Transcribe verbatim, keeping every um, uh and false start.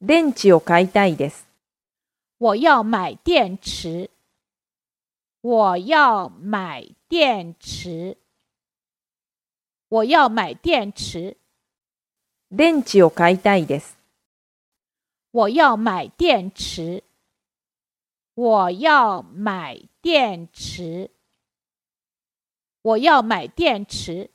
電池を買いたいです。 我要买电池。我要买电池。我要买电池。 電池を買いたいです。 我要买电池。我要买电池。我要买电池。